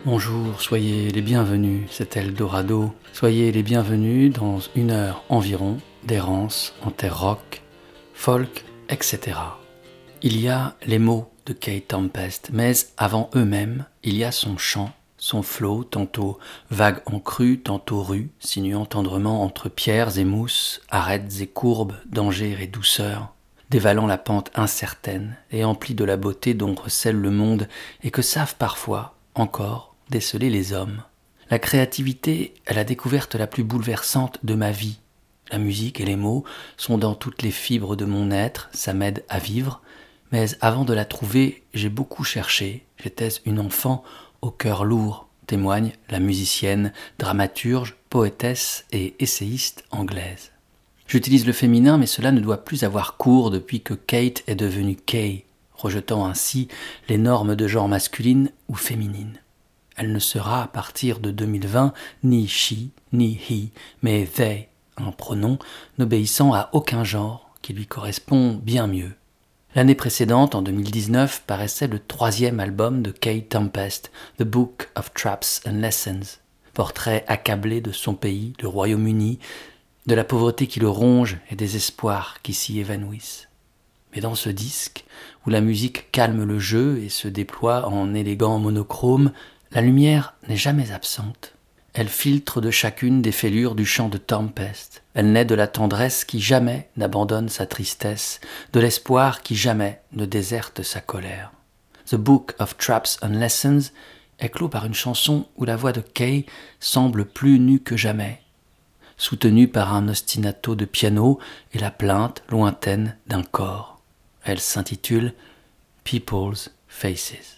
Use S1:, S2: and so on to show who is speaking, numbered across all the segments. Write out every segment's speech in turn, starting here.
S1: Bonjour, soyez les bienvenus, c'est Eldorado. Soyez les bienvenus dans 1 heure environ d'errance en terre rock, folk, etc. Il y a les mots de Kate Tempest, mais avant eux-mêmes, il y a son chant, son flow, tantôt vague en crue, tantôt rue, sinuant tendrement entre pierres et mousses, arêtes et courbes, danger et douceur, dévalant la pente incertaine et emplie de la beauté dont recèle le monde et que savent parfois, encore, déceler les hommes. La créativité est la découverte la plus bouleversante de ma vie. La musique et les mots sont dans toutes les fibres de mon être, ça m'aide à vivre, mais avant de la trouver, j'ai beaucoup cherché. J'étais une enfant au cœur lourd, témoigne la musicienne, dramaturge, poétesse et essayiste anglaise. J'utilise le féminin, mais cela ne doit plus avoir cours depuis que Kate est devenue Kay, rejetant ainsi les normes de genre masculine ou féminine. Elle ne sera à partir de 2020 ni she, ni he, mais they, un pronom n'obéissant à aucun genre qui lui correspond bien mieux. L'année précédente, en 2019, paraissait le 3e album de Kate Tempest, The Book of Traps and Lessons, portrait accablé de son pays, le Royaume-Uni, de la pauvreté qui le ronge et des espoirs qui s'y évanouissent. Mais dans ce disque, où la musique calme le jeu et se déploie en élégant monochrome, la lumière n'est jamais absente. Elle filtre de chacune des fêlures du chant de Tempest. Elle naît de la tendresse qui jamais n'abandonne sa tristesse, de l'espoir qui jamais ne déserte sa colère. The Book of Traps and Lessons est clos par une chanson où la voix de Kay semble plus nue que jamais, soutenue par un ostinato de piano et la plainte lointaine d'un corps. Elle s'intitule People's Faces.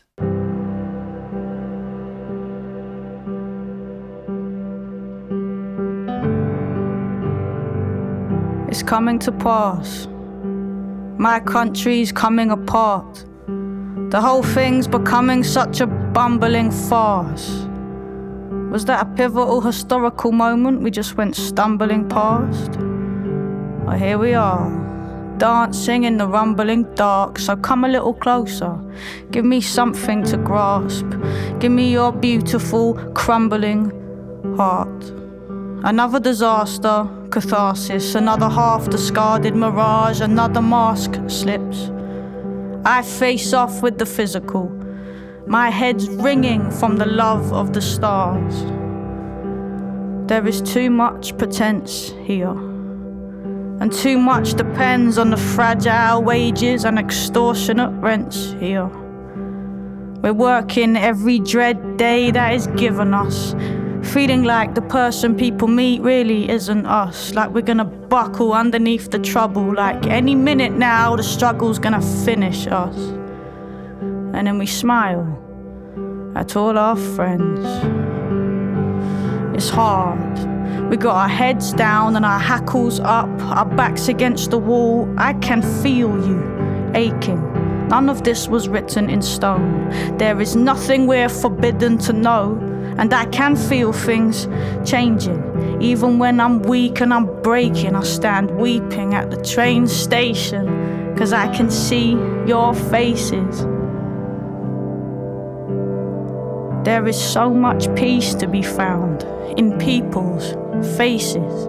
S2: It's coming to pass. My country's coming apart. The whole thing's becoming such a bumbling farce. Was that a pivotal historical moment we just went stumbling past? Well, here we are, dancing in the rumbling dark, so come a little closer. Give me something to grasp. Give me your beautiful, crumbling heart. Another disaster, catharsis, another half-discarded mirage, another mask slips. I face off with the physical, my head's ringing from the love of the stars. There is too much pretense here, and too much depends on the fragile wages and extortionate rents here. We're working every dread day that is given us, feeling like the person people meet really isn't us, like we're gonna buckle underneath the trouble, like any minute now the struggle's gonna finish us. And then we smile at all our friends. It's hard. We got our heads down and our hackles up, our backs against the wall. I can feel you aching. None of this was written in stone. There is nothing we're forbidden to know. And I can feel things changing. Even when I'm weak and I'm breaking, I stand weeping at the train station, 'cause I can see your faces. There is so much peace to be found in people's faces.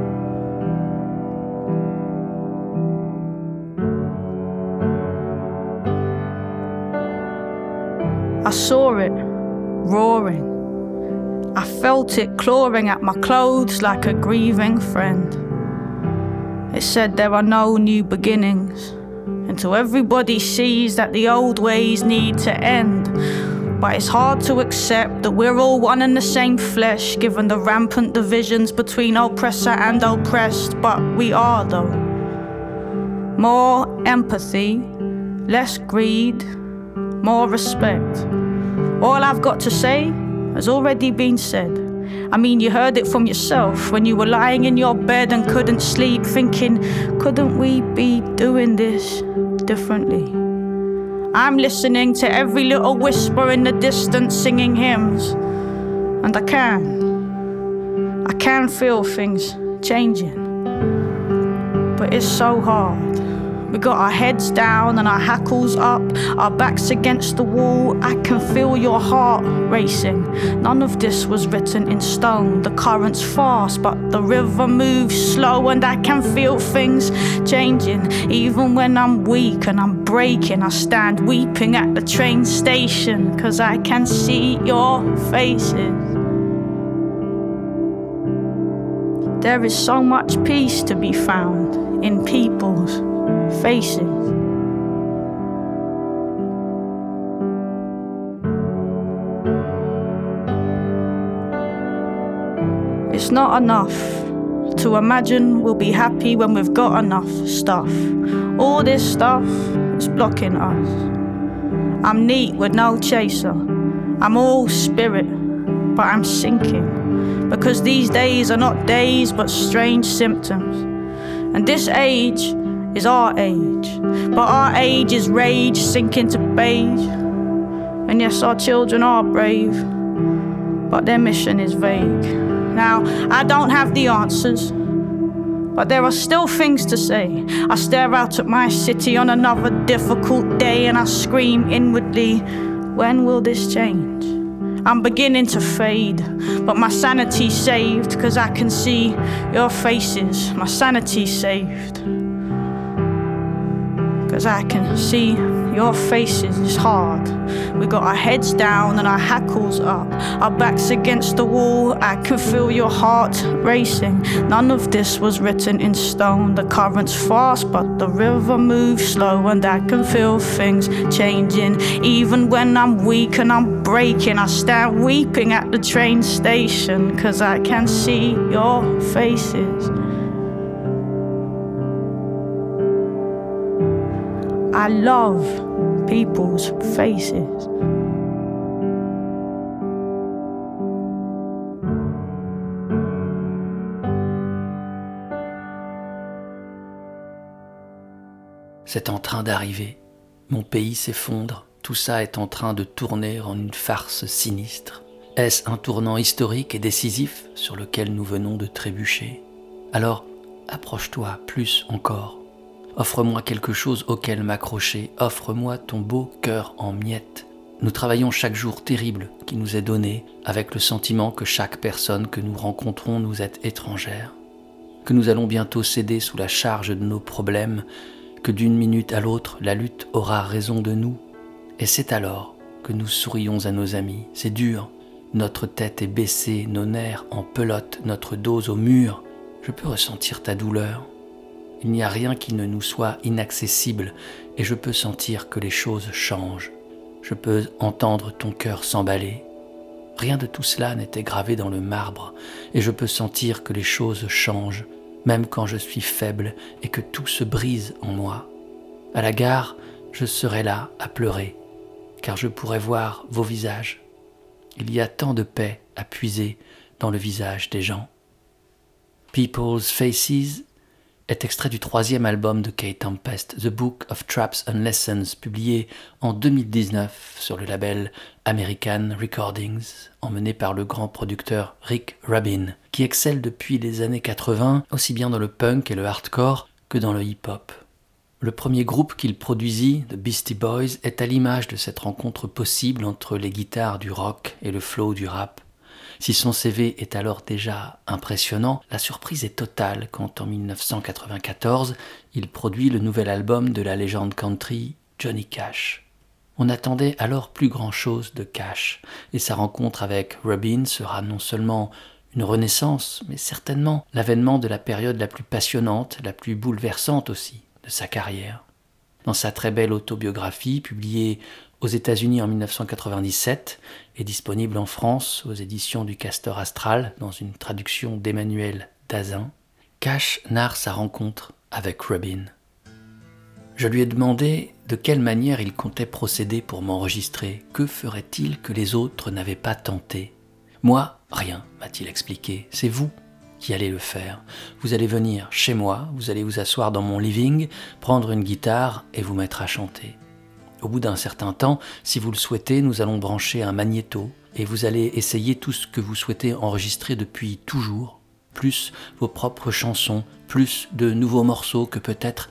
S2: I saw it roaring. I felt it clawing at my clothes like a grieving friend. It said there are no new beginnings until everybody sees that the old ways need to end. But it's hard to accept that we're all one and the same flesh, given the rampant divisions between oppressor and oppressed. But we are, though. More empathy, less greed, more respect. All I've got to say has already been said. I mean, you heard it from yourself when you were lying in your bed and couldn't sleep, thinking, couldn't we be doing this differently? I'm listening to every little whisper in the distance singing hymns, and I can feel things changing. But it's so hard, We got our heads down and our hackles up, our backs against the wall. I can feel your heart racing. None of this was written in stone. The current's fast, but the river moves slow, and I can feel things changing. Even when I'm weak and I'm breaking, I stand weeping at the train station, 'cause I can see your faces. There is so much peace to be found in people's faces. It's not enough to imagine we'll be happy when we've got enough stuff. All this stuff is blocking us. I'm neat with no chaser. I'm all spirit, but I'm sinking. Because these days are not days but strange symptoms. And this age is our age, but our age is rage sinking to beige. And yes, our children are brave, but their mission is vague. Now, I don't have the answers, but there are still things to say. I stare out at my city on another difficult day, and I scream inwardly, when will this change? I'm beginning to fade, but my sanity's saved, 'cause I can see your faces. My sanity's saved, 'cause I can see your faces. It's hard. We got our heads down and our hackles up, our backs against the wall. I can feel your heart racing. None of this was written in stone. The current's fast, but the river moves slow, and I can feel things changing. Even when I'm weak and I'm breaking, I stand weeping at the train station, 'cause I can see your faces. I love people's faces.
S1: C'est en train d'arriver. Mon pays s'effondre. Tout ça est en train de tourner en une farce sinistre. Est-ce un tournant historique et décisif sur lequel nous venons de trébucher? Alors, approche-toi plus encore. Offre-moi quelque chose auquel m'accrocher, offre-moi ton beau cœur en miettes. Nous travaillons chaque jour terrible qui nous est donné, avec le sentiment que chaque personne que nous rencontrons nous est étrangère, que nous allons bientôt céder sous la charge de nos problèmes, que d'une minute à l'autre, la lutte aura raison de nous. Et c'est alors que nous sourions à nos amis. C'est dur, notre tête est baissée, nos nerfs en pelote, notre dos au mur. Je peux ressentir ta douleur. Il n'y a rien qui ne nous soit inaccessible et je peux sentir que les choses changent. Je peux entendre ton cœur s'emballer. Rien de tout cela n'était gravé dans le marbre et je peux sentir que les choses changent, même quand je suis faible et que tout se brise en moi. À la gare, je serai là à pleurer, car je pourrai voir vos visages. Il y a tant de paix à puiser dans le visage des gens. People's Faces est extrait du 3e album de Kay Tempest, The Book of Traps and Lessons, publié en 2019 sur le label American Recordings, emmené par le grand producteur Rick Rubin, qui excelle depuis les années 80, aussi bien dans le punk et le hardcore que dans le hip-hop. Le premier groupe qu'il produisit, The Beastie Boys, est à l'image de cette rencontre possible entre les guitares du rock et le flow du rap. Si son CV est alors déjà impressionnant, la surprise est totale quand en 1994, il produit le nouvel album de la légende country Johnny Cash. On attendait alors plus grand-chose de Cash, et sa rencontre avec Rubin sera non seulement une renaissance, mais certainement l'avènement de la période la plus passionnante, la plus bouleversante aussi, de sa carrière. Dans sa très belle autobiographie, publiée aux États-Unis en 1997 et disponible en France aux éditions du Castor Astral dans une traduction d'Emmanuel Dazin, Cash narre sa rencontre avec Rubin. Je lui ai demandé de quelle manière il comptait procéder pour m'enregistrer. Que ferait-il que les autres n'avaient pas tenté? Moi, rien, m'a-t-il expliqué. C'est vous qui allez le faire. Vous allez venir chez moi, vous allez vous asseoir dans mon living, prendre une guitare et vous mettre à chanter. Au bout d'un certain temps, si vous le souhaitez, nous allons brancher un magnéto et vous allez essayer tout ce que vous souhaitez enregistrer depuis toujours, plus vos propres chansons, plus de nouveaux morceaux que peut-être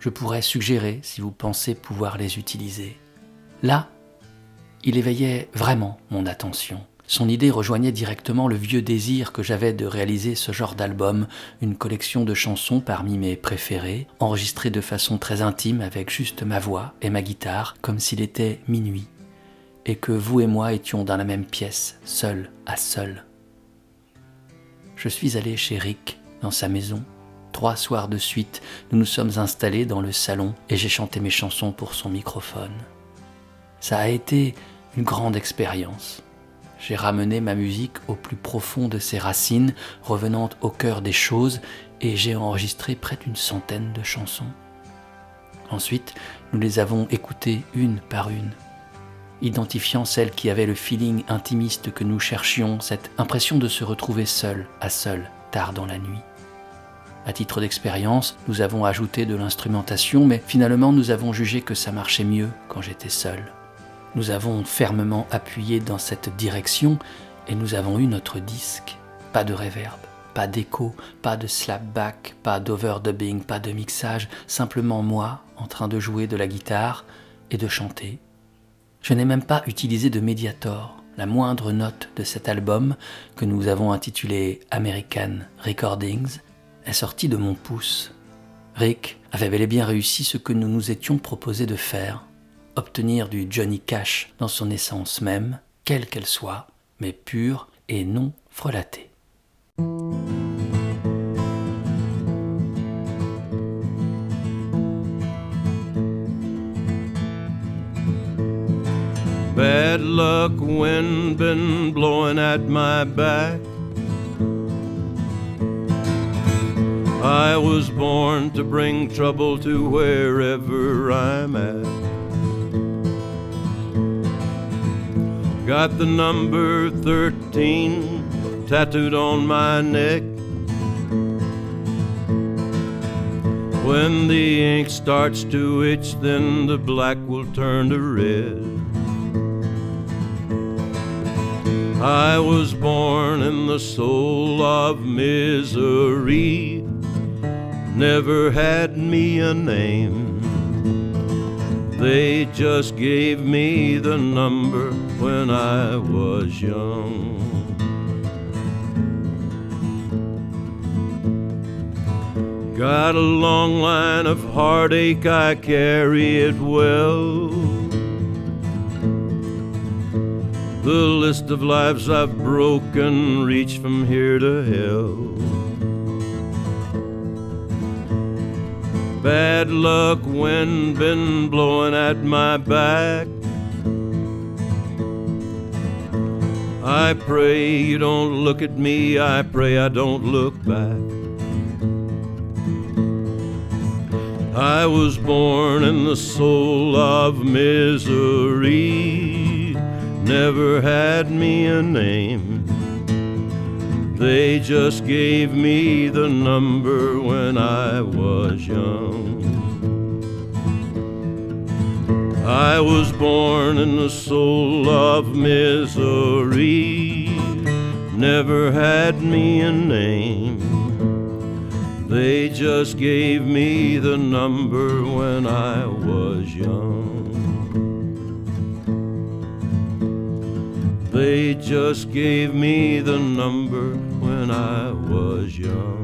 S1: je pourrais suggérer si vous pensez pouvoir les utiliser. Là, il éveillait vraiment mon attention. Son idée rejoignait directement le vieux désir que j'avais de réaliser ce genre d'album, une collection de chansons parmi mes préférées, enregistrées de façon très intime avec juste ma voix et ma guitare, comme s'il était minuit, et que vous et moi étions dans la même pièce, seul à seul. Je suis allé chez Rick, dans sa maison. 3 soirs de suite, nous nous sommes installés dans le salon et j'ai chanté mes chansons pour son microphone. Ça a été une grande expérience. J'ai ramené ma musique au plus profond de ses racines, revenant au cœur des choses, et j'ai enregistré près d'une centaine de chansons. Ensuite, nous les avons écoutées une par une, identifiant celles qui avaient le feeling intimiste que nous cherchions, cette impression de se retrouver seul à seul, tard dans la nuit. À titre d'expérience, nous avons ajouté de l'instrumentation, mais finalement nous avons jugé que ça marchait mieux quand j'étais seul. Nous avons fermement appuyé dans cette direction et nous avons eu notre disque. Pas de reverb, pas d'écho, pas de slapback, pas d'overdubbing, pas de mixage, simplement moi en train de jouer de la guitare et de chanter. Je n'ai même pas utilisé de Mediator, la moindre note de cet album que nous avons intitulé American Recordings est sortie de mon pouce. Rick avait bel et bien réussi ce que nous nous étions proposé de faire. Obtenir du Johnny Cash dans son essence même, quelle qu'elle soit, mais pure et non frelatée.
S3: Bad luck, wind been blowing at my back. I was born to bring trouble to wherever I'm at. Got the number 13 tattooed on my neck. When the ink starts to itch, then the black will turn to red. I was born in the soul of misery, never had me a name. They just gave me the number when I was young. Got a long line of heartache, I carry it well. The list of lives I've broken reach from here to hell. Bad luck, wind been blowing at my back. I pray you don't look at me, I pray I don't look back. I was born in the soul of misery, never had me a name. They just gave me the number when I was young. I was born in the soul of misery, never had me a name. They just gave me the number when I was young. They just gave me the number when I was young.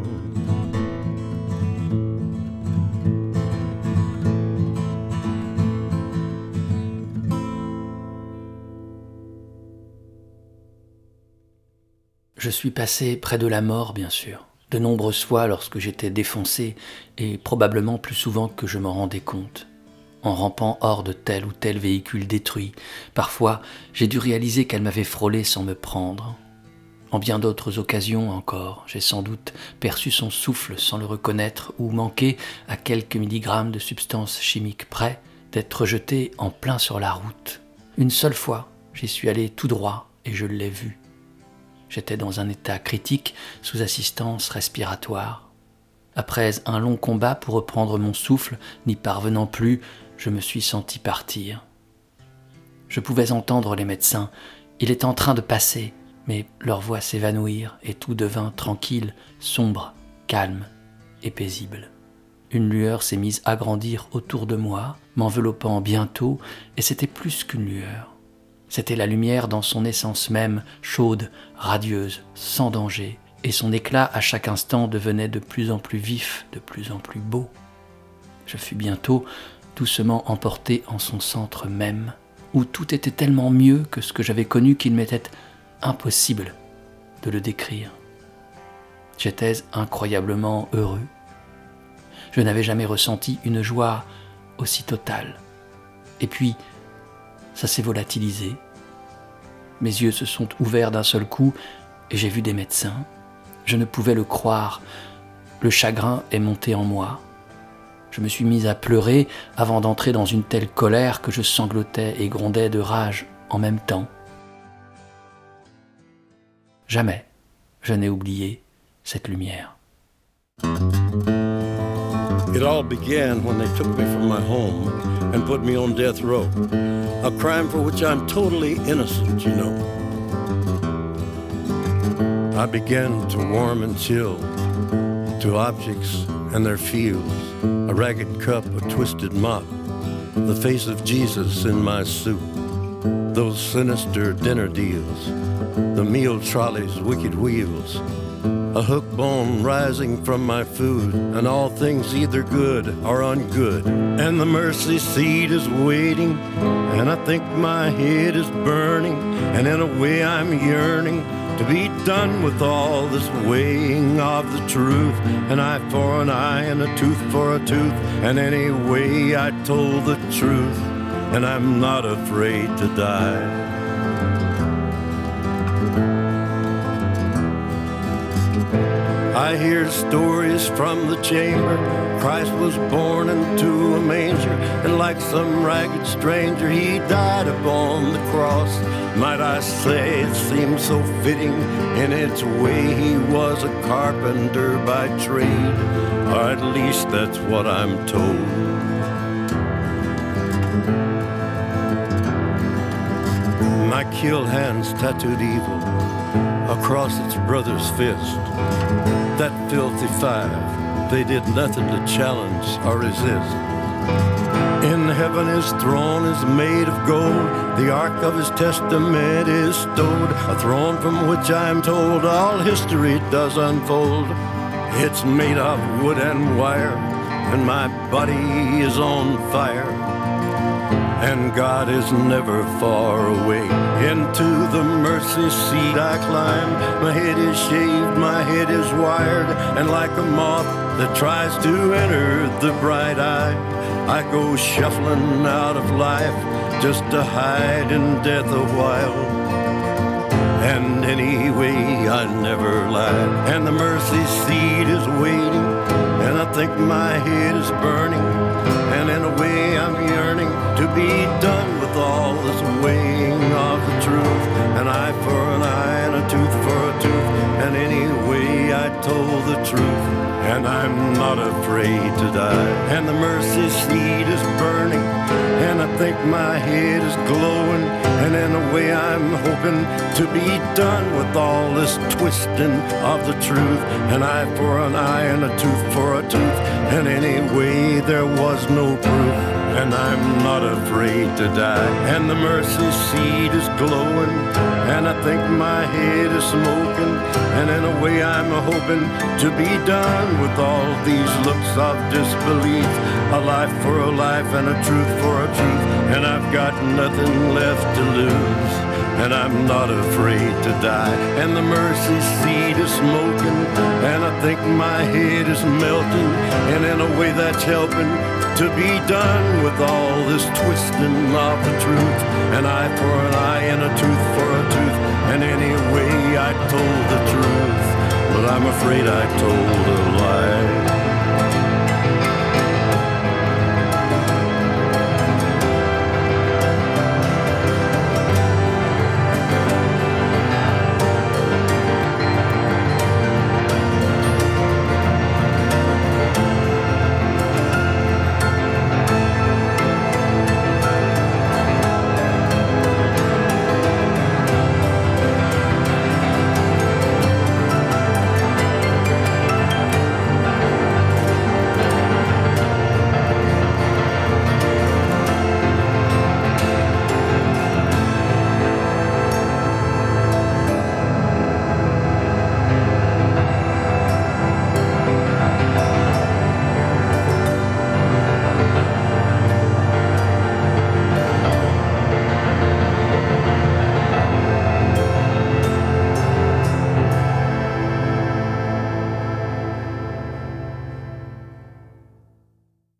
S1: Je suis passé près de la mort, bien sûr, de nombreuses fois lorsque j'étais défoncé et probablement plus souvent que je m'en rendais compte. En rampant hors de tel ou tel véhicule détruit, parfois j'ai dû réaliser qu'elle m'avait frôlé sans me prendre. En bien d'autres occasions encore, j'ai sans doute perçu son souffle sans le reconnaître ou manqué à quelques milligrammes de substances chimiques près d'être jeté en plein sur la route. Une seule fois, j'y suis allé tout droit et je l'ai vu. J'étais dans un état critique sous assistance respiratoire. Après un long combat pour reprendre mon souffle, n'y parvenant plus, je me suis senti partir. Je pouvais entendre les médecins. Il est en train de passer, mais leurs voix s'évanouirent et tout devint tranquille, sombre, calme et paisible. Une lueur s'est mise à grandir autour de moi, m'enveloppant bientôt, et c'était plus qu'une lueur. C'était la lumière dans son essence même, chaude, radieuse, sans danger, et son éclat à chaque instant devenait de plus en plus vif, de plus en plus beau. Je fus bientôt doucement emporté en son centre même, où tout était tellement mieux que ce que j'avais connu qu'il m'était impossible de le décrire. J'étais incroyablement heureux. Je n'avais jamais ressenti une joie aussi totale. Et puis, ça s'est volatilisé. Mes yeux se sont ouverts d'un seul coup et j'ai vu des médecins. Je ne pouvais le croire. Le chagrin est monté en moi. Je me suis mis à pleurer avant d'entrer dans une telle colère que je sanglotais et grondais de rage en même temps. Jamais je n'ai oublié cette lumière.
S3: It all began when they took me from my home and put me on death row, a crime for which I'm totally innocent, you know. I began to warm and chill to objects and their fields, a ragged cup, a twisted mop, the face of Jesus in my soup, those sinister dinner deals, the meal trolley's wicked wheels, a hook bone rising from my food, and all things either good or ungood. And the mercy seat is waiting, and I think my head is burning, and in a way I'm yearning to be done with all this weighing of the truth. An eye for an eye and a tooth for a tooth, and anyway I told the truth, and I'm not afraid to die. I hear stories from the chamber. Christ was born into a manger, and like some ragged stranger, he died upon the cross. Might I say it seems so fitting in its way. He was a carpenter by trade, or at least that's what I'm told. My kill hands tattooed evil across its brother's fist. That filthy five, they did nothing to challenge or resist. In heaven his throne is made of gold, the ark of his testament is stowed, a throne from which I am told all history does unfold. It's made of wood and wire, and my body is on fire, and God is never far away. Into the mercy seat I climb. My head is shaved, my head is wired, and like a moth that tries to enter the bright eye, I go shuffling out of life just to hide in death a while. And anyway, I never lied. And the mercy seat is waiting, and I think my head is burning, and in a way I'm yearning to be done with all this weighing of the truth. An eye for an eye and a tooth for a tooth, and anyway I told the truth, and I'm not afraid to die. And the mercy seat is burning, and I think my head is glowing, and in a way I'm hoping to be done with all this twisting of the truth. An eye for an eye and a tooth for a tooth, and anyway there was no proof, and I'm not afraid to die. And the mercy seat is glowing, and I think my head is smoking, and in a way I'm hoping to be done with all these looks of disbelief. A life for a life and a truth for a truth, and I've got nothing left to lose, and I'm not afraid to die. And the mercy seat is smoking, and I think my head is melting, and in a way that's helping to be done with all this twisting of the truth. An eye for an eye and a tooth for a tooth, and anyway I told the truth, but I'm afraid I told a lie.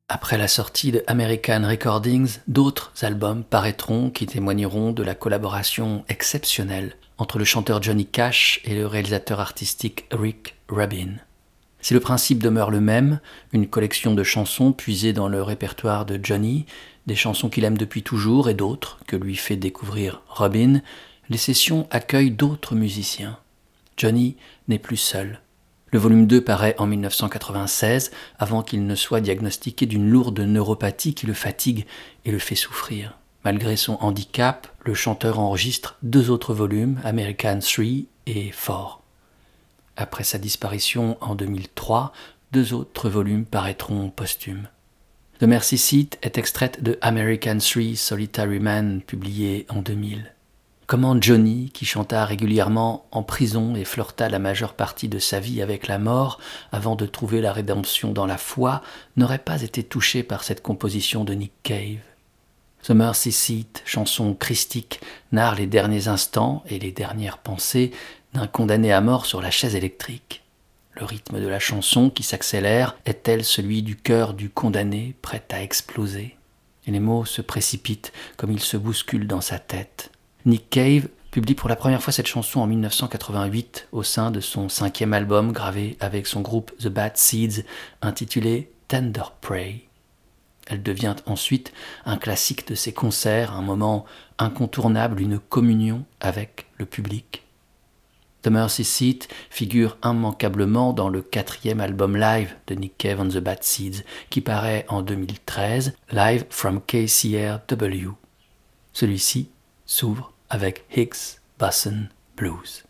S1: Après la sortie de American Recordings, d'autres albums paraîtront qui témoigneront de la collaboration exceptionnelle entre le chanteur Johnny Cash et le réalisateur artistique Rick Rubin. Si le principe demeure le même, une collection de chansons puisées dans le répertoire de Johnny, des chansons qu'il aime depuis toujours et d'autres que lui fait découvrir Rubin, les sessions accueillent d'autres musiciens. Johnny n'est plus seul. Le volume 2 paraît en 1996, avant qu'il ne soit diagnostiqué d'une lourde neuropathie qui le fatigue et le fait souffrir. Malgré son handicap, le chanteur enregistre 2 autres volumes, American 3 et 4. Après sa disparition en 2003, 2 autres volumes paraîtront posthumes. The Mercy Seat est extraite de American 3 Solitary Man, publié en 2000. Comment Johnny, qui chanta régulièrement en prison et flirta la majeure partie de sa vie avec la mort avant de trouver la rédemption dans la foi, n'aurait pas été touché par cette composition de Nick Cave. The Mercy Seat, chanson christique, narre les derniers instants et les dernières pensées d'un condamné à mort sur la chaise électrique. Le rythme de la chanson, qui s'accélère, est tel celui du cœur du condamné prêt à exploser. Et les mots se précipitent comme ils se bousculent dans sa tête. Nick Cave publie pour la première fois cette chanson en 1988 au sein de son 5e album gravé avec son groupe The Bad Seeds intitulé Tender Prey. Elle devient ensuite un classique de ses concerts, un moment incontournable, une communion avec le public. The Mercy Seat figure immanquablement dans le 4e album live de Nick Cave and the Bad Seeds qui paraît en 2013, Live from KCRW. Celui-ci s'ouvre avec Hicks Bosson Blues.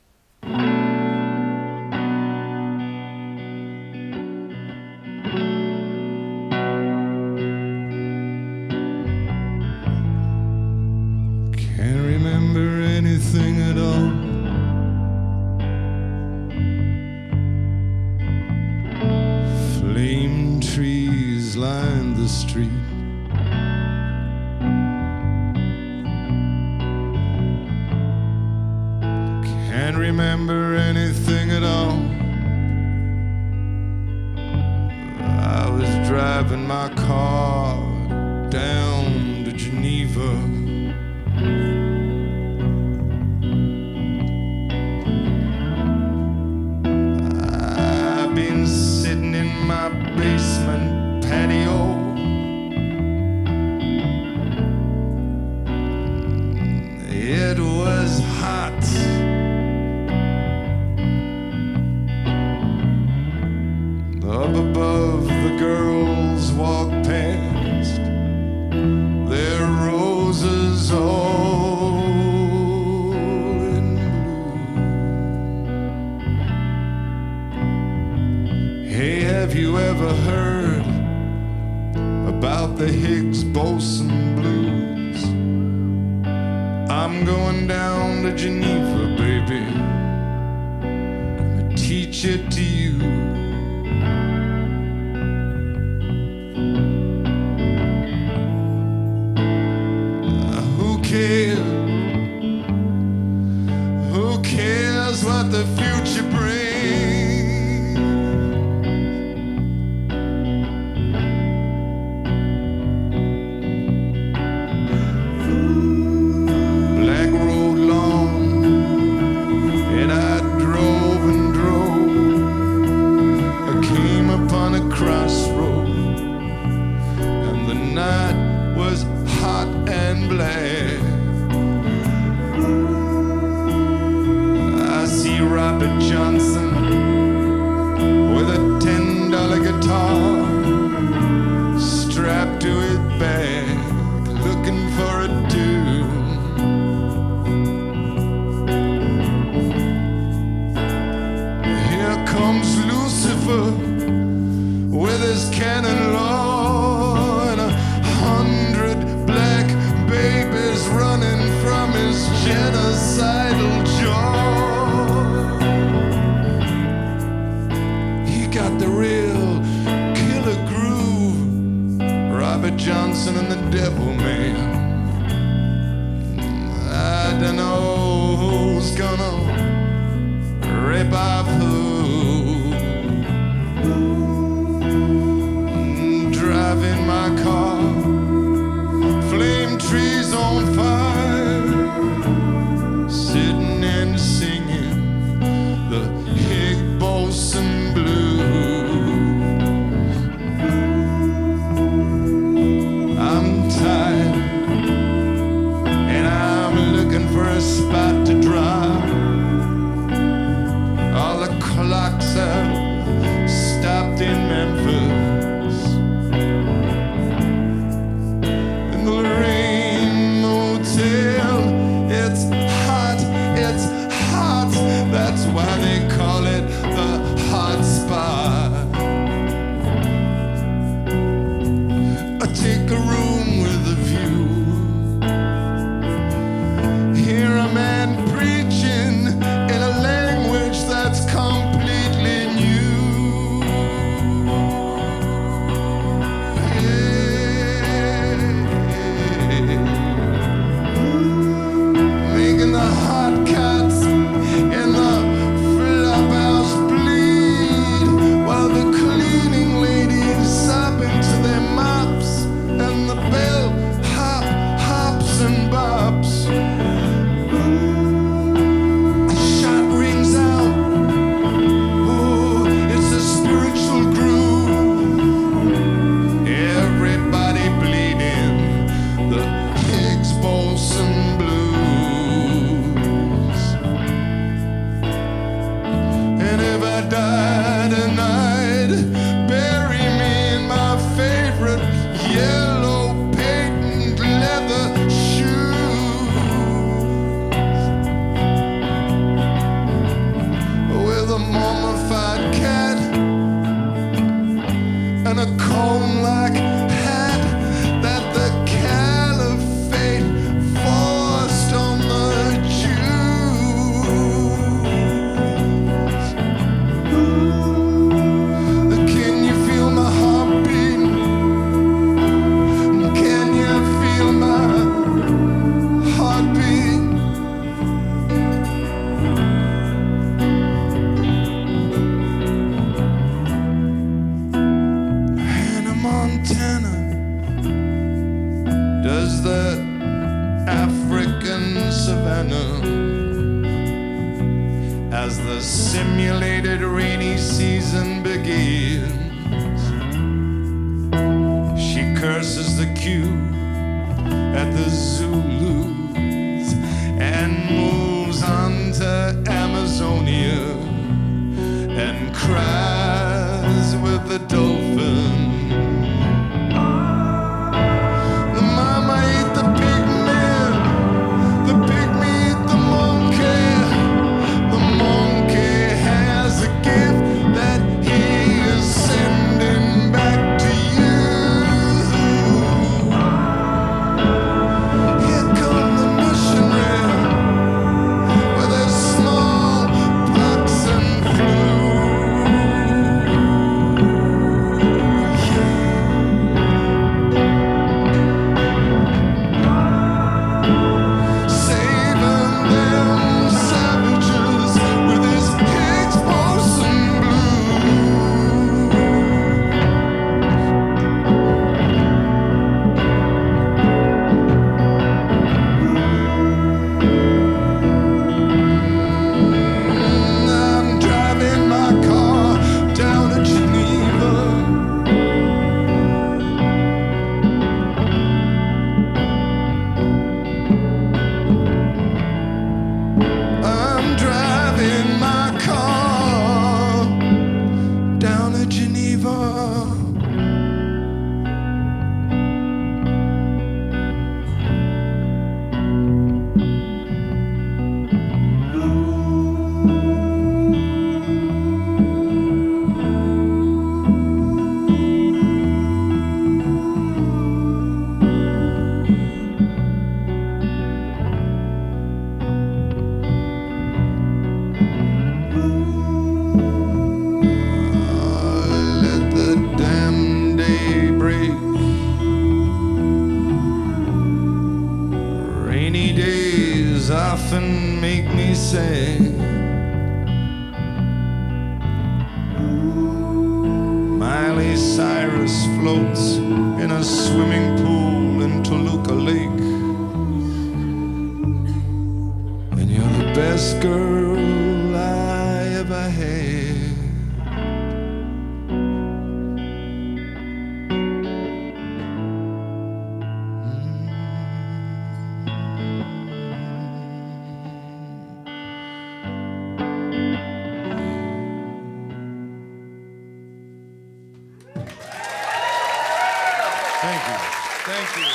S4: Can't remember anything at all. Flame trees line the street. Can't remember anything at all. I was driving my car down to Geneva. I've been sitting in my basement patio. It was hot. Up above, the girls walk past, their roses all in blue. Hey, have you ever heard about the Hicks Bosson Blues? I'm going down to Geneva, baby, gonna teach it to you. Who cares what the future brings? Black road long, and I drove and drove. I came upon a crossroad, and the night was hot and black. Robert Johnson with a $10 guitar strapped to his back, looking for a tune. Here comes Lucifer with his cannon law and 100 black babies running from his genocidal jaw. Got the real killer groove, Robert Johnson and the Devil Man. I don't know who's gonna rip off who, drive driving my car, flame trees on fire, sitting and singing the Hig Bolson blues. I'm tired and I'm looking for a spot to drive. All the clocks have stopped in Memphis. In the Lorraine Motel, it's hot, that's why they call it the hot spot. I take a room with a view, hear a man preaching in a language that's completely new. Making the hot cats in the flop house bleed, while the cleaning ladies sob into their mops, and the bell hops and bops. A shot rings out. Oh, it's a spiritual groove. Everybody bleeding the Higgs Bolson blues. And if I die tonight, bury me in my favorite yellow patent leather shoes, with a mummified cat and a cone-like hat that the caliphate forced on the Jews. Can you feel my heartbeat? Can you feel my heartbeat? Hannah Montana does the African savannah as the simulated rainy season begins. She curses the queue at the Zulus and moves on to Amazonia and cries with the dolphin. The mama ate the pig man, the pygmy ate the monkey. The monkey has a gift that he is sending back to you. Here come the missionary with his smallpox and flu. Saving them savages with his Higgs Boson blues. I'm driving my car down to Geneva. I'm driving my car down to Geneva. Let the damn day break. Rainy days often make me sad. Miley Cyrus floats in a swimming pool in Toluca Lake. And you're the best girl I ever had. Thank you. Thank you.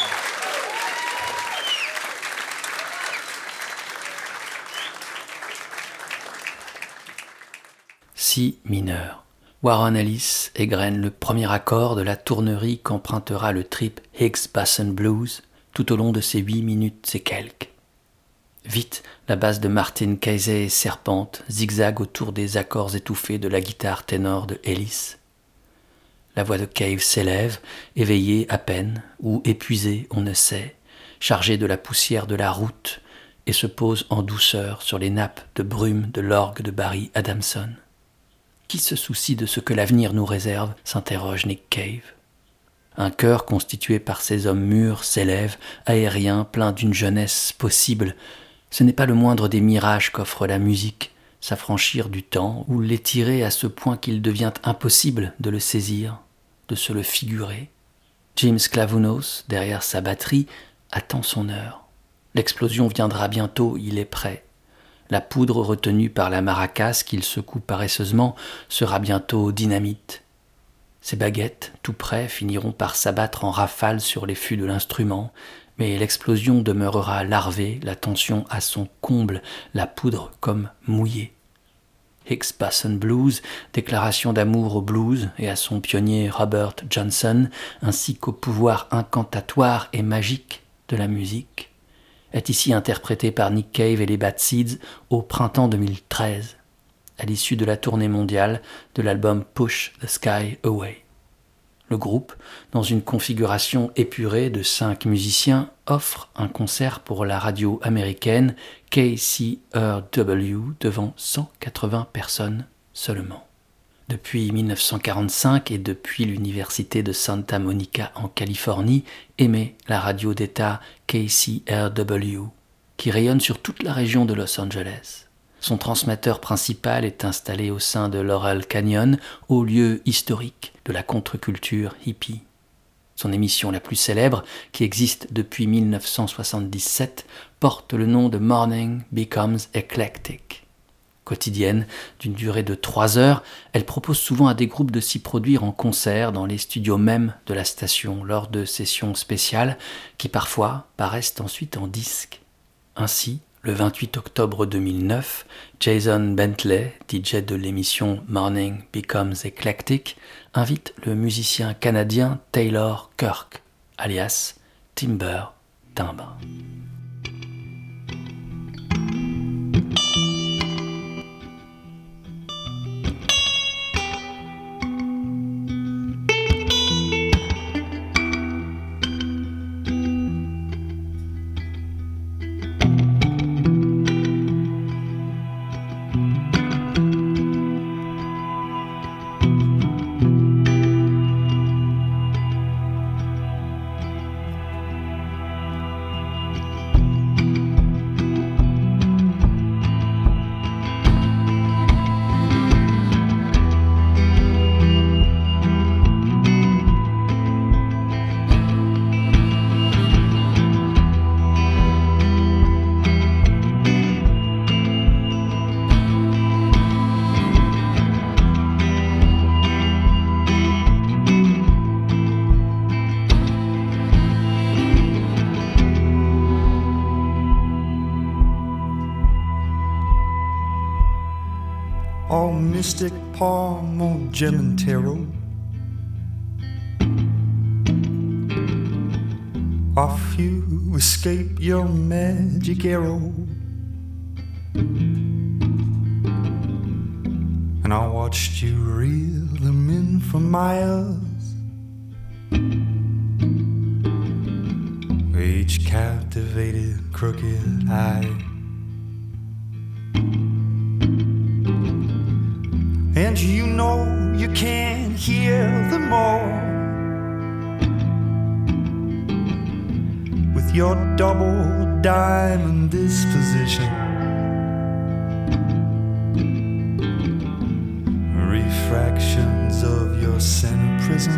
S1: Si mineur. Warren Ellis égrène le premier accord de la tournerie qu'empruntera le trip Higgs Basson Blues tout au long de ses 8 minutes et quelques. Vite, la basse de Martin Casey serpente, zigzague autour des accords étouffés de la guitare ténor de Ellis. La voix de Cave s'élève, éveillée à peine, ou épuisée, on ne sait, chargée de la poussière de la route, et se pose en douceur sur les nappes de brume de l'orgue de Barry Adamson. Qui se soucie de ce que l'avenir nous réserve, s'interroge Nick Cave. Un chœur constitué par ces hommes mûrs s'élève, aérien, plein d'une jeunesse possible. Ce n'est pas le moindre des mirages qu'offre la musique, s'affranchir du temps ou l'étirer à ce point qu'il devient impossible de le saisir, de se le figurer. Jim Sklavounos, derrière sa batterie, attend son heure. L'explosion viendra bientôt, il est prêt. La poudre retenue par la maracas qu'il secoue paresseusement sera bientôt dynamite. Ses baguettes, tout près, finiront par s'abattre en rafales sur les fûts de l'instrument, mais l'explosion demeurera larvée, la tension à son comble, la poudre comme mouillée. Higgs Basson Blues, déclaration d'amour au blues et à son pionnier Robert Johnson, ainsi qu'au pouvoir incantatoire et magique de la musique, est ici interprété par Nick Cave et les Bad Seeds au printemps 2013, à l'issue de la tournée mondiale de l'album Push the Sky Away. Le groupe, dans une configuration épurée de 5 musiciens, offre un concert pour la radio américaine KCRW devant 180 personnes seulement. Depuis 1945 et depuis l'université de Santa Monica en Californie, émet la radio d'État KCRW, qui rayonne sur toute la région de Los Angeles. Son transmetteur principal est installé au sein de Laurel Canyon, haut lieu historique de la contre-culture hippie. Son émission la plus célèbre, qui existe depuis 1977, porte le nom de Morning Becomes Eclectic. Quotidienne, d'une durée de 3 heures, elle propose souvent à des groupes de s'y produire en concert dans les studios même de la station lors de sessions spéciales qui parfois paraissent ensuite en disque. Ainsi, le 28 octobre 2009, Jason Bentley, DJ de l'émission Morning Becomes Eclectic, invite le musicien canadien Taylor Kirk, alias Timber Timbre.
S5: Oh, mystic palm, oh, gem and tarot. Off you escape your magic arrow, and I watched you reel them in for miles, each captivated crooked eye. And you know you can't hear them all, your double diamond disposition. Refractions of your center prism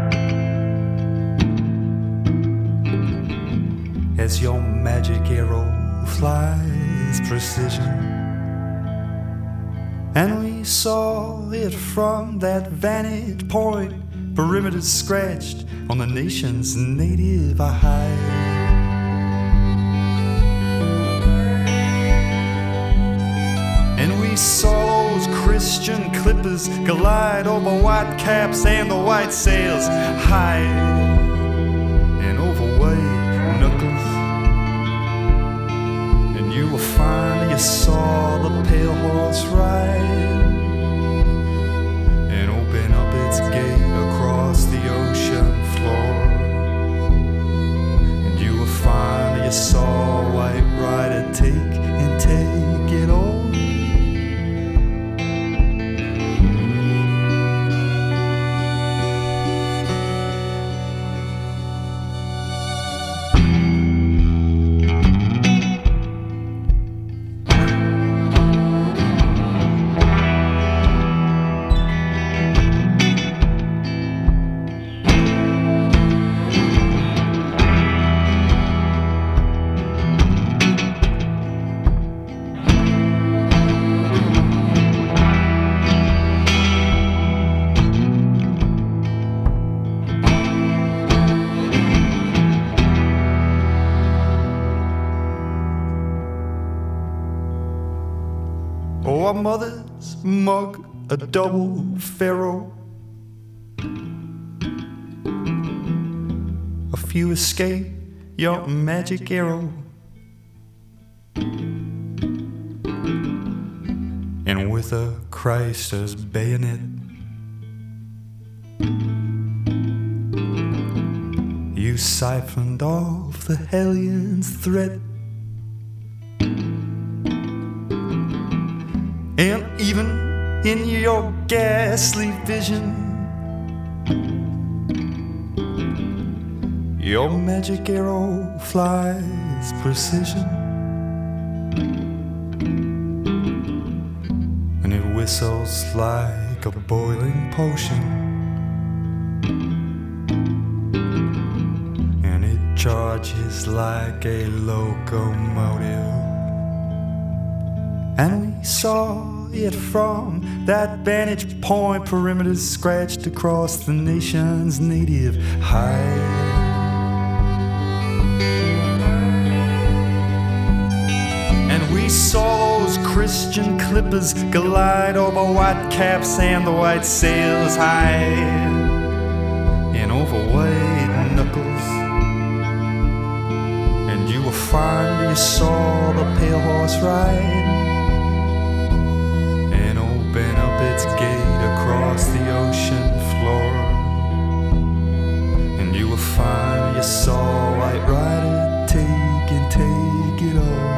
S5: as your magic arrow flies precision. And we saw it from that vantage point, perimeters scratched on the nation's native hide. And we saw those Christian clippers glide over white caps and the white sails, hide and overweight knuckles. And you will find you saw the pale horse ride and open up its gate across the ocean floor. And you will find you saw a white rider take and take it all. Oh, our mother's mug, a double pharaoh. A few escape your magic arrow. And with a Christ's bayonet, you siphoned off the hellion's threat. And even in your ghastly vision, your magic arrow flies precision. And it whistles like a boiling potion. And it charges like a locomotive. And we saw it from that vantage point, perimeters scratched across the nation's native hide. And we saw those Christian clippers glide over white caps and the white sails, hide and overweight knuckles. And you will find you saw the pale horse ride and open up its gate across the ocean floor. And you will find you saw White Rider take and take it all.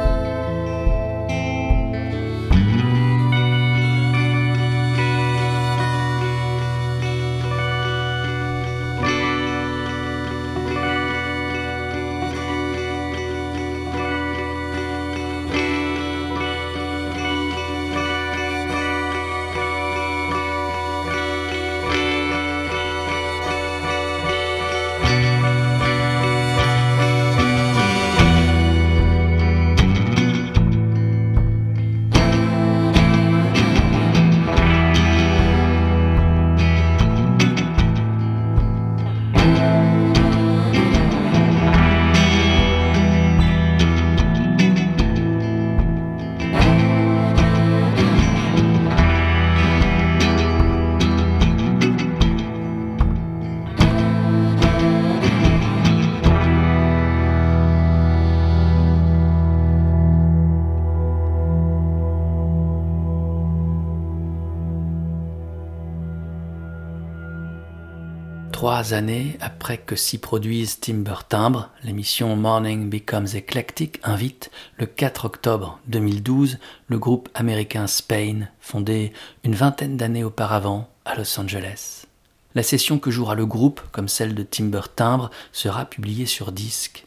S1: Trois années après que s'y produise Timber Timbre, l'émission Morning Becomes Eclectic invite, le 4 octobre 2012, le groupe américain Spain, fondé une vingtaine d'années auparavant à Los Angeles. La session que jouera le groupe, comme celle de Timber Timbre, sera publiée sur disque.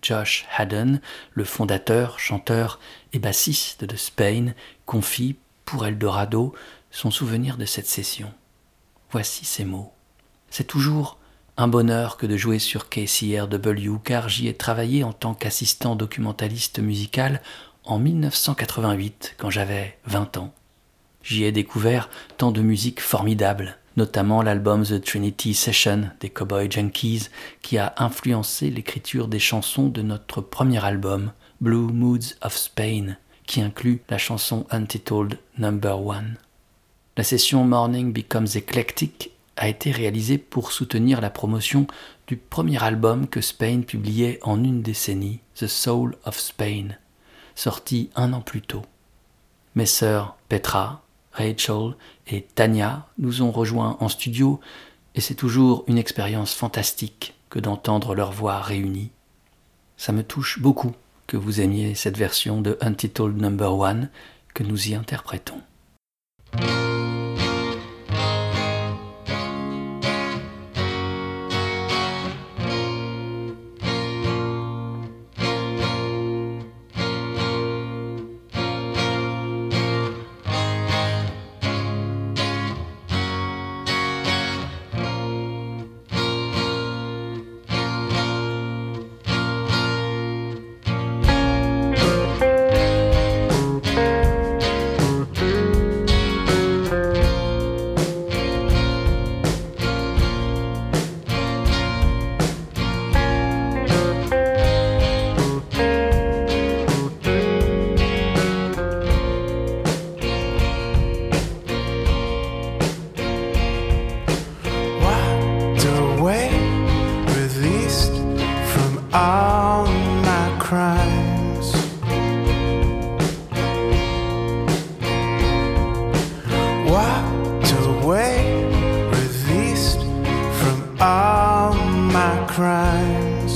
S1: Josh Haddon, le fondateur, chanteur et bassiste de Spain, confie, pour Eldorado, son souvenir de cette session. Voici ces mots. « C'est toujours un bonheur que de jouer sur KCRW car j'y ai travaillé en tant qu'assistant documentaliste musical en 1988 quand j'avais 20 ans. J'y ai découvert tant de musique formidable, notamment l'album The Trinity Session des Cowboy Junkies qui a influencé l'écriture des chansons de notre premier album, Blue Moods of Spain, qui inclut la chanson Untitled No. 1. La session Morning Becomes Eclectic a été réalisée pour soutenir la promotion du premier album que Spain publiait en une décennie, The Soul of Spain, sorti 1 an plus tôt. Mes sœurs Petra, Rachel et Tania nous ont rejoints en studio et c'est toujours une expérience fantastique que d'entendre leurs voix réunies. Ça me touche beaucoup que vous aimiez cette version de Untitled No. 1 que nous y interprétons.
S4: all my crimes. Walked away, released from all my crimes.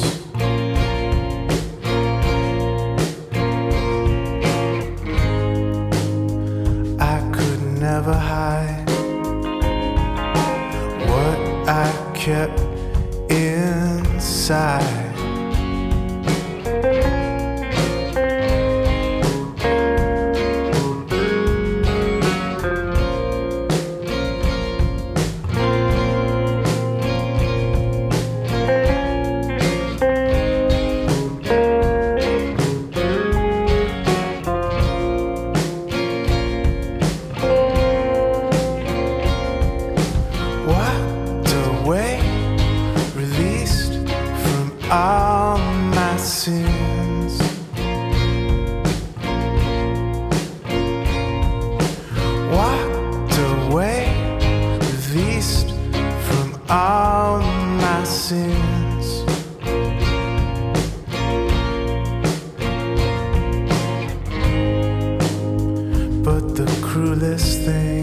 S4: I could never hide what I kept inside. Walked away, released from all my sins. Walked away, released from all my sins. But the cruelest thing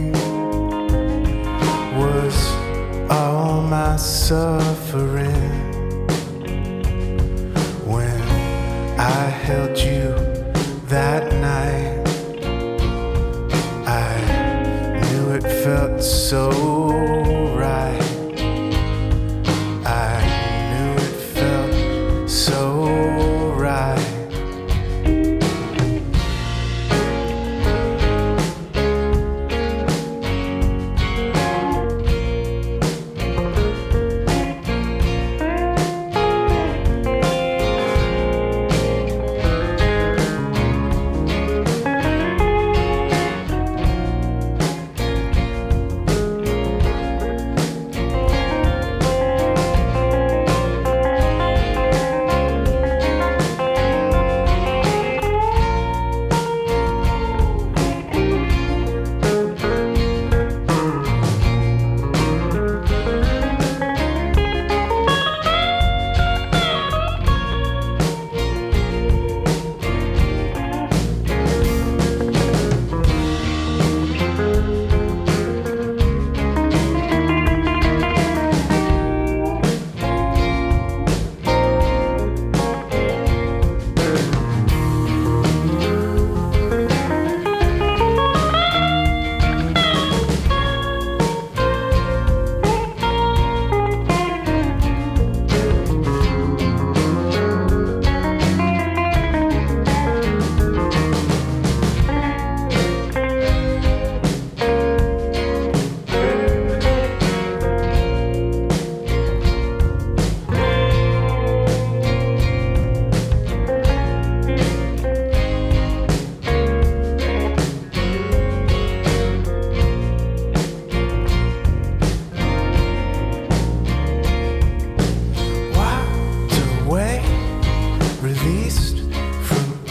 S4: was all my suffering when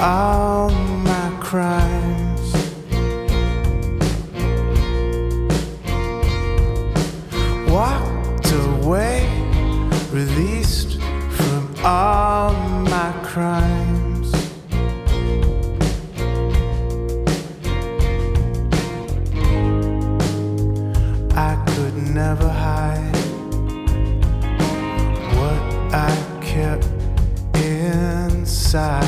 S4: all my crimes. Walked away, released from all my crimes. I could never hide what I kept inside.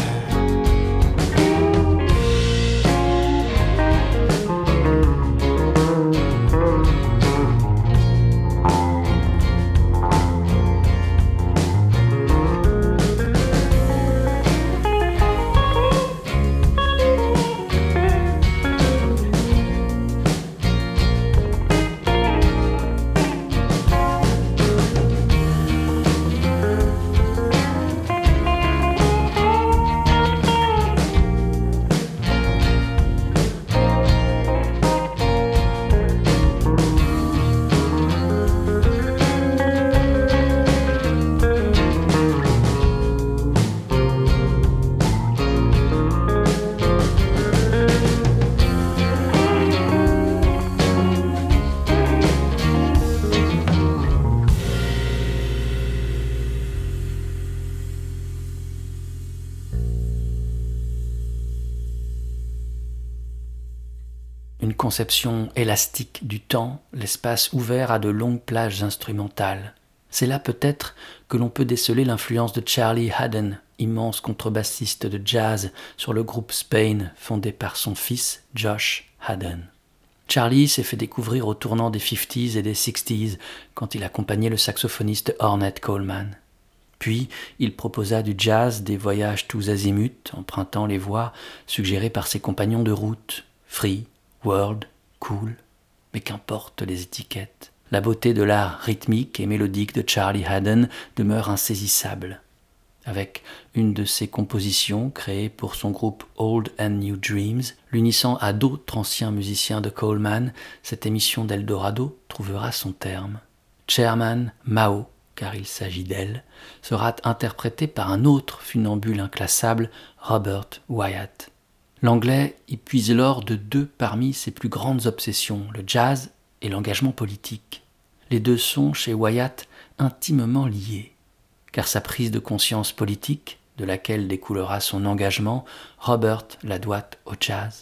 S1: Une conception élastique du temps, l'espace ouvert à de longues plages instrumentales. C'est là peut-être que l'on peut déceler l'influence de Charlie Haden, immense contrebassiste de jazz sur le groupe Spain, fondé par son fils Josh Haden. Charlie s'est fait découvrir au tournant des 50s et des 60s quand il accompagnait le saxophoniste Ornette Coleman. Puis, il proposa du jazz, des voyages tous azimuts, empruntant les voies suggérées par ses compagnons de route, free, world, cool, mais qu'importent les étiquettes. La beauté de l'art rythmique et mélodique de Charlie Haden demeure insaisissable. Avec une de ses compositions créées pour son groupe Old and New Dreams, l'unissant à d'autres anciens musiciens de Coleman, cette émission d'Eldorado trouvera son terme. Chairman Mao, car il s'agit d'elle, sera interprétée par un autre funambule inclassable, Robert Wyatt. L'anglais y puise l'or de deux parmi ses plus grandes obsessions, le jazz et l'engagement politique. Les deux sont, chez Wyatt, intimement liés, car sa prise de conscience politique, de laquelle découlera son engagement, Robert la doit au jazz.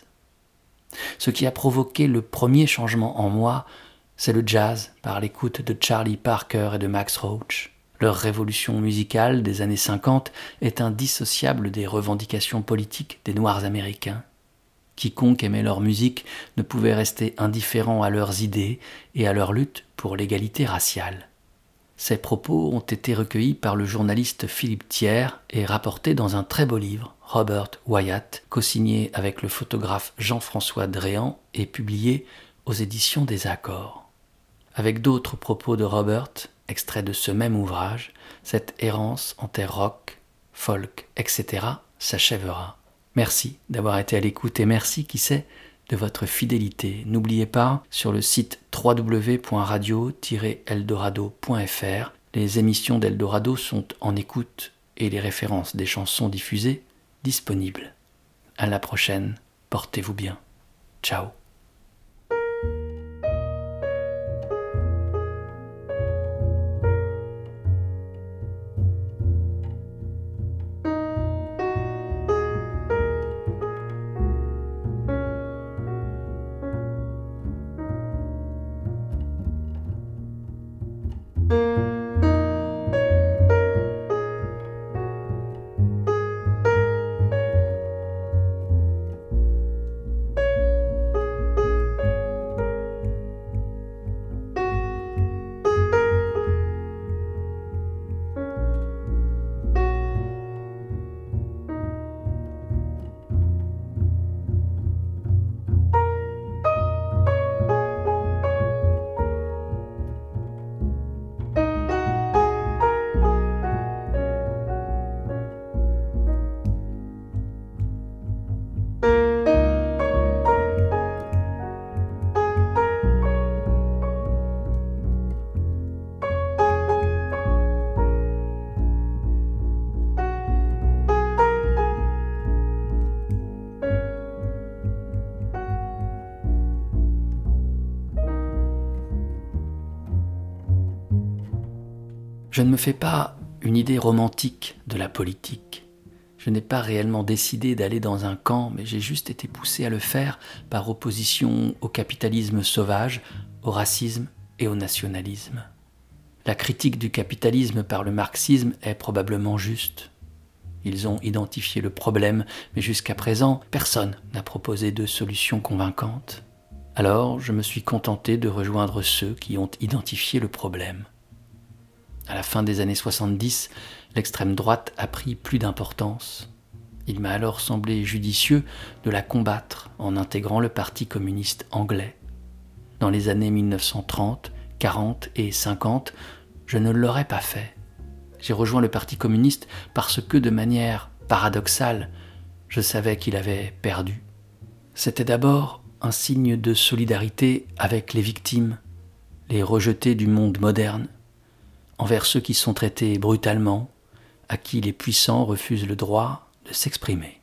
S1: Ce qui a provoqué le premier changement en moi, c'est le jazz par l'écoute de Charlie Parker et de Max Roach. Leur révolution musicale des années 50 est indissociable des revendications politiques des Noirs américains. Quiconque aimait leur musique ne pouvait rester indifférent à leurs idées et à leur lutte pour l'égalité raciale. Ces propos ont été recueillis par le journaliste Philippe Thiers et rapportés dans un très beau livre, Robert Wyatt, co-signé avec le photographe Jean-François Dréan et publié aux éditions des Accords. Avec d'autres propos de Robert, extraits de ce même ouvrage, cette errance en terre rock, folk, etc. s'achèvera. Merci d'avoir été à l'écoute et merci, qui sait, de votre fidélité. N'oubliez pas, sur le site www.radio-eldorado.fr, les émissions d'Eldorado sont en écoute et les références des chansons diffusées disponibles. À la prochaine, portez-vous bien. Ciao. Je ne me fais pas une idée romantique de la politique. Je n'ai pas réellement décidé d'aller dans un camp, mais j'ai juste été poussé à le faire par opposition au capitalisme sauvage, au racisme et au nationalisme. La critique du capitalisme par le marxisme est probablement juste. Ils ont identifié le problème, mais jusqu'à présent, personne n'a proposé de solution convaincante. Alors, je me suis contenté de rejoindre ceux qui ont identifié le problème. À la fin des années 70, l'extrême droite a pris plus d'importance. Il m'a alors semblé judicieux de la combattre en intégrant le Parti communiste anglais. Dans les années 1930, 40 et 50, je ne l'aurais pas fait. J'ai rejoint le Parti communiste parce que, de manière paradoxale, je savais qu'il avait perdu. C'était d'abord un signe de solidarité avec les victimes, les rejetés du monde moderne, envers ceux qui sont traités brutalement, à qui les puissants refusent le droit de s'exprimer.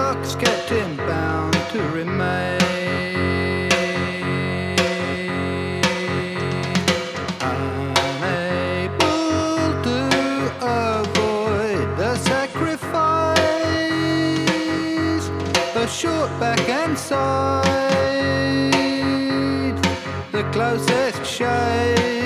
S6: luck's kept him bound to remain. Unable to avoid the sacrifice, the short back and side, the closest shade.